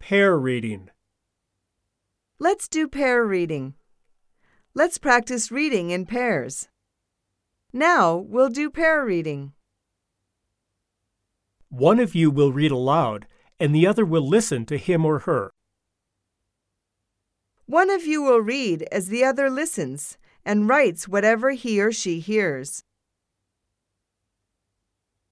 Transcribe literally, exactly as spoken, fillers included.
pair reading. Let's do pair reading. Let's practice reading in pairs. Now we'll do pair reading. One of you will read aloud, and the other will listen to him or her. One of you will read as the other listens and writes whatever he or she hears.